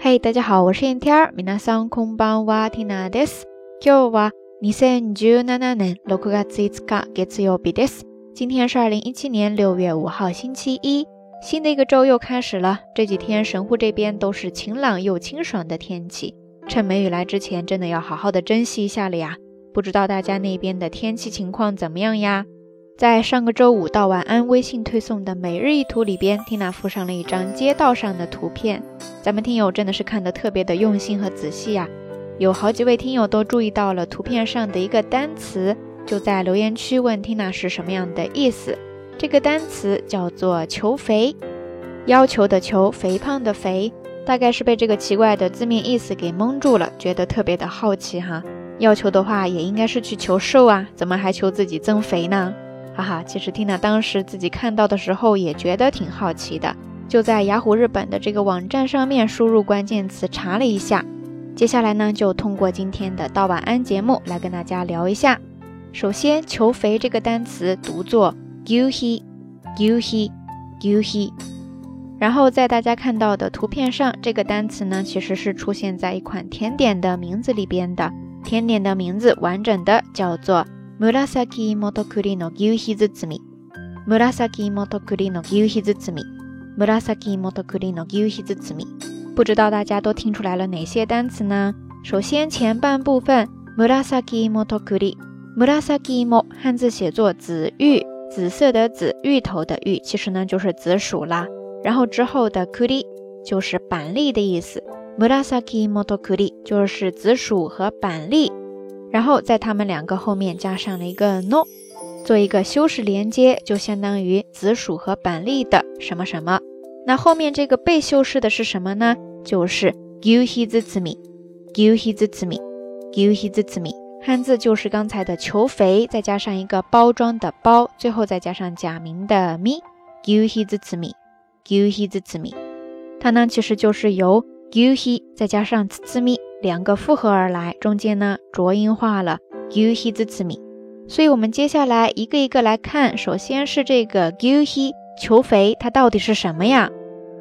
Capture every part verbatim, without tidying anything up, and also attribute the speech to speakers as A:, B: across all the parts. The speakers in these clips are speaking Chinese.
A: 嘿、hey, 大家好，我是燕天儿。皆さんこんばんは、ティナです。今日はにせんじゅうななねんろくがついつか月曜日です。今天是二零一七年六月五号星期一，新的一个周又开始了。这几天神户这边都是晴朗又清爽的天气，趁梅雨来之前真的要好好的珍惜一下了呀。不知道大家那边的天气情况怎么样呀？在上个周五到晚安微信推送的每日一图里边， Tina 附上了一张街道上的图片，咱们听友真的是看得特别的用心和仔细呀。有好几位听友都注意到了图片上的一个单词，就在留言区问 Tina 是什么样的意思。这个单词叫做求肥，要求的求，肥胖的肥，大概是被这个奇怪的字面意思给蒙住了，觉得特别的好奇哈。要求的话也应该是去求瘦啊，怎么还求自己增肥呢？哈哈，其实 Tina 当时自己看到的时候也觉得挺好奇的，就在雅虎日本的这个网站上面输入关键词查了一下。接下来呢，就通过今天的到晚安节目来跟大家聊一下。首先，求肥这个单词读作 gyuhi gyuhi gyuhi， 然后在大家看到的图片上，这个单词呢其实是出现在一款甜点的名字里边的。甜点的名字完整的叫做紫芋と栗の牛皮包み、紫芋と栗の牛皮包み、紫芋と栗の牛皮包み。不知道大家都听出来了哪些单词呢？首先前半部分紫芋と栗，紫芋汉字写作紫芋，紫色的紫，芋头的芋，其实呢就是紫薯啦。然后之后的栗就是板栗的意思，紫芋と栗就是紫薯和板栗。然后在它们两个后面加上了一个 no， 做一个修饰连接，就相当于紫薯和板栗的什么什么。那后面这个被修饰的是什么呢？就是牛皮包み、牛皮包み、牛皮包み，汉字就是刚才的求肥，再加上一个包装的包，最后再加上假名的み、牛皮包み、牛皮包み。它呢其实就是由牛皮再加上包み两个复合而来，中间呢浊音化了牛皮包み。所以我们接下来一个一个来看，首先是这个牛皮求肥，它到底是什么呀？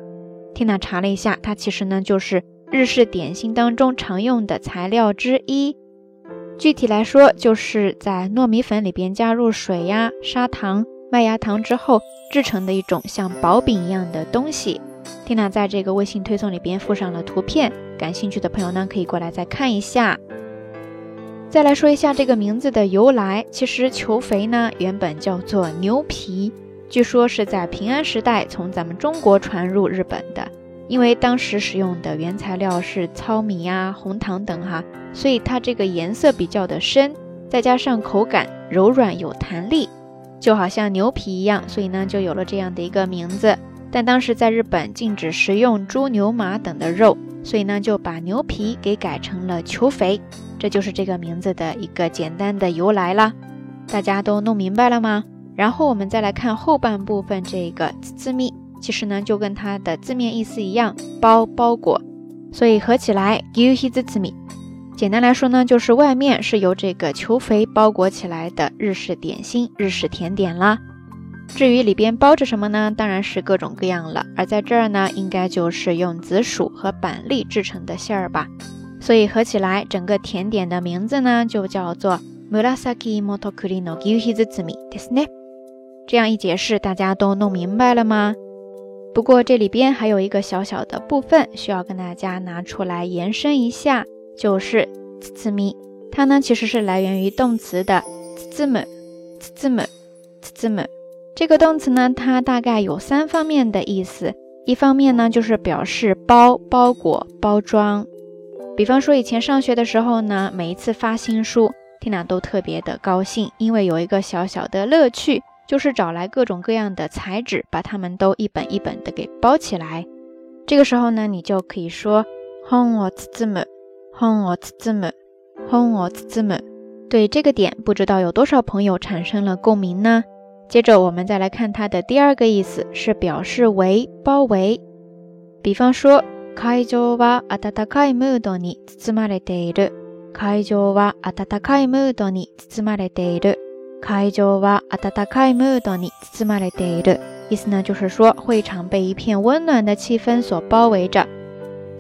A: Tina 查了一下，它其实呢就是日式点心当中常用的材料之一。具体来说，就是在糯米粉里边加入水呀、砂糖、麦芽糖之后制成的一种像薄饼一样的东西。Tina 在这个微信推送里边附上了图片，感兴趣的朋友呢可以过来再看一下。再来说一下这个名字的由来，其实求肥呢原本叫做牛皮，据说是在平安时代从咱们中国传入日本的。因为当时使用的原材料是糙米啊、红糖等哈，所以它这个颜色比较的深，再加上口感柔软有弹力，就好像牛皮一样，所以呢就有了这样的一个名字。但当时在日本禁止食用猪、牛、马等的肉，所以呢就把牛皮给改成了求肥，这就是这个名字的一个简单的由来啦。大家都弄明白了吗？然后我们再来看后半部分，这个包み，其实呢就跟它的字面意思一样，包包裹，所以合起来牛皮包み。简单来说呢，就是外面是由这个求肥包裹起来的日式点心、日式甜点啦。至于里边包着什么呢？当然是各种各样了，而在这儿呢，应该就是用紫薯和板栗制成的馅儿吧。所以合起来，整个甜点的名字呢，就叫做紫芋と栗の牛皮包みですね。这样一解释，大家都弄明白了吗？不过这里边还有一个小小的部分需要跟大家拿出来延伸一下，就是包み。它呢其实是来源于动词的包む、包む、包む。这个动词呢，它大概有三方面的意思。一方面呢，就是表示包、包裹、包装。比方说以前上学的时候呢，每一次发新书 Tina 都特别的高兴，因为有一个小小的乐趣，就是找来各种各样的材质，把它们都一本一本的给包起来。这个时候呢，你就可以说本を包む、本を包む、本を包む。对这个点，不知道有多少朋友产生了共鸣呢？接着我们再来看它的第二个意思，是表示围、包围。比方说会場は温かいムードに包まれている、会場は温かいムードに包まれている、会場は温かいムードに包まれている。意思呢就是说会场被一片温暖的气氛所包围着。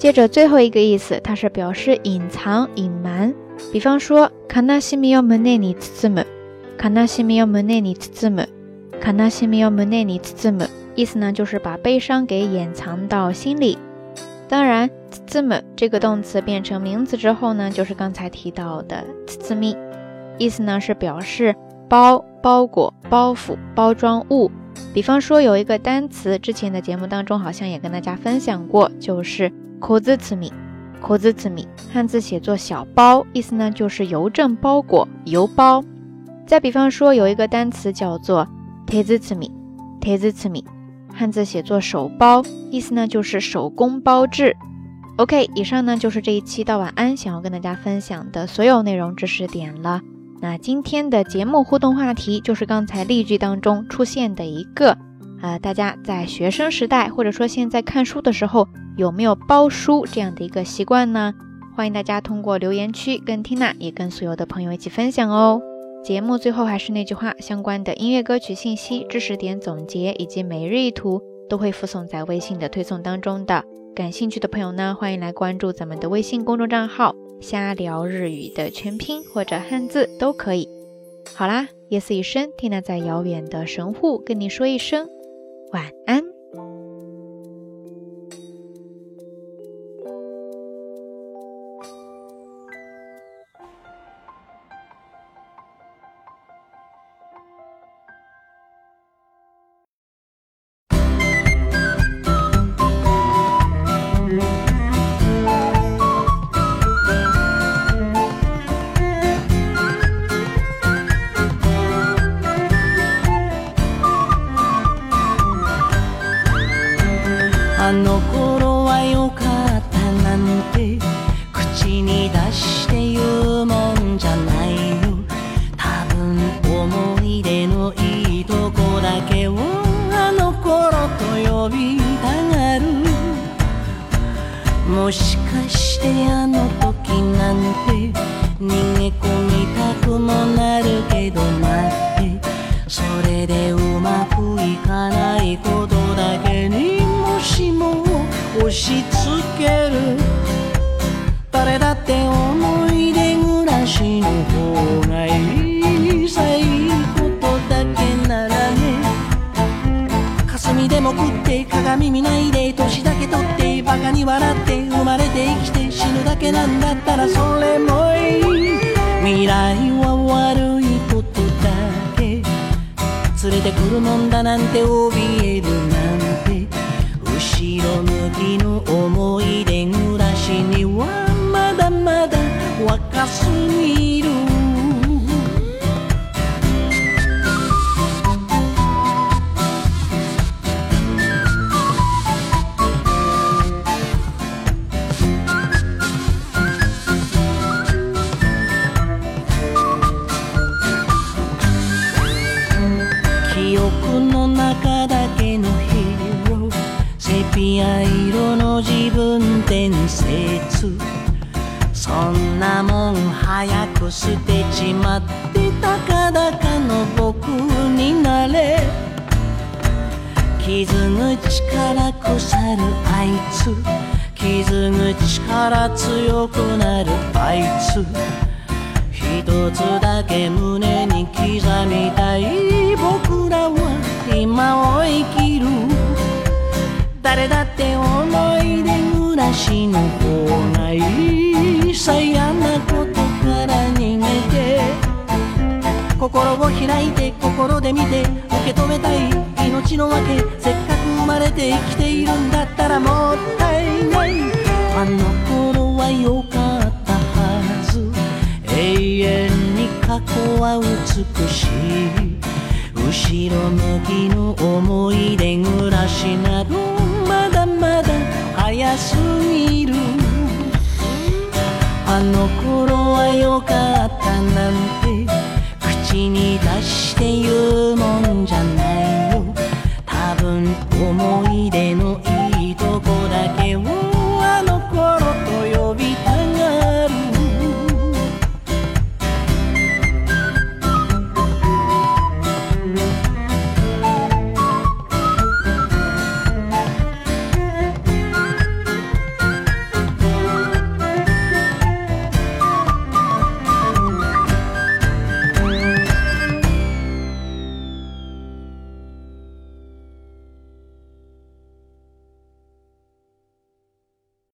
A: 接着最后一个意思，它是表示隐藏、隐瞒。比方说悲しみを胸に包む、悲しみを胸に包む、悲しみを胸に包む，意思呢就是把悲伤给掩藏到心里。当然包む这个动词变成名词之后呢，就是刚才提到的包み，意思呢是表示包、包裹、包袱、包装物。比方说有一个单词，之前的节目当中好像也跟大家分享过，就是小包み。小包み汉字写作小包，意思呢就是邮政包裹、邮包。再比方说有一个单词叫做手包み、手包み汉字写作手包，意思呢就是手工包制。 OK， 以上呢就是这一期到晚安想要跟大家分享的所有内容知识点了。那今天的节目互动话题就是刚才例句当中出现的一个呃，大家在学生时代或者说现在看书的时候有没有包书这样的一个习惯呢？欢迎大家通过留言区跟 Tina 也跟所有的朋友一起分享哦。节目最后还是那句话，相关的音乐歌曲信息、知识点总结以及每日一图都会附送在微信的推送当中的。感兴趣的朋友呢，欢迎来关注咱们的微信公众账号瞎聊日语的全拼或者汉字都可以。好啦，夜色已深， Tina 在遥远的神户跟你说一声晚安。
B: あの頃は良かったなんて口に出して言うもんじゃないよ。多分思い出のいいとこだけをあの頃と呼びたがる。もしかしてあの時なんて逃げ込みたくもなるけど待って、それでうまくいかないことだけにもしも押し付ける。誰だって思い出暮らしの方がいいさ、いいことだけならね。霞でも食って鏡見ないで年だけ取ってバカに笑って生まれて生きて死ぬだけなんだったらそれもいい。未来は悪いことだけ連れてくるもんだなんて怯えるなんて、後ろ向きの思い出暮らしにはまだまだ若すぎる。記憶の中だけのヒーロー、セピア色の自分伝説。そんなもん早く捨てちまってたかだかの僕になれ。傷口から腐るあいつ、傷口から強くなるあいつ、一つだけ胸に刻みたい。僕らは今を生きる。誰だって思い出暮らしの方がいいさ、嫌なことから逃げて心を開いて心で見て受け止めたい命のわけ。せっかく生まれて生きているんだったらもったいない。あの頃は良かったはず、永遠に過去は美しい。後ろ向きの思い出暮らしなどまだまだ早すぎる。あの頃は良かったなんて口に出して言うもんじゃないよ。多分思い出のいいとこだけを